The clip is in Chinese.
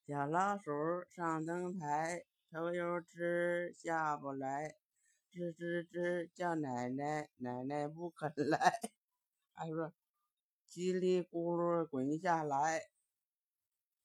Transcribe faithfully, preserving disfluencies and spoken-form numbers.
小老鼠上灯台，头又直下不来，吱吱吱叫奶奶，奶奶不肯来。还说叽里咕噜滚下来，